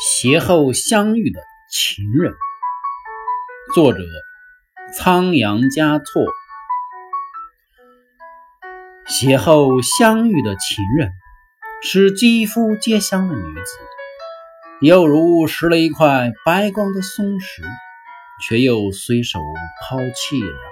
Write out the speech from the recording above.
邂逅相遇的情人，作者仓央嘉措。邂逅相遇的情人，是肌肤皆香的女子，犹如拾了一块白光的松石，却又随手抛弃了。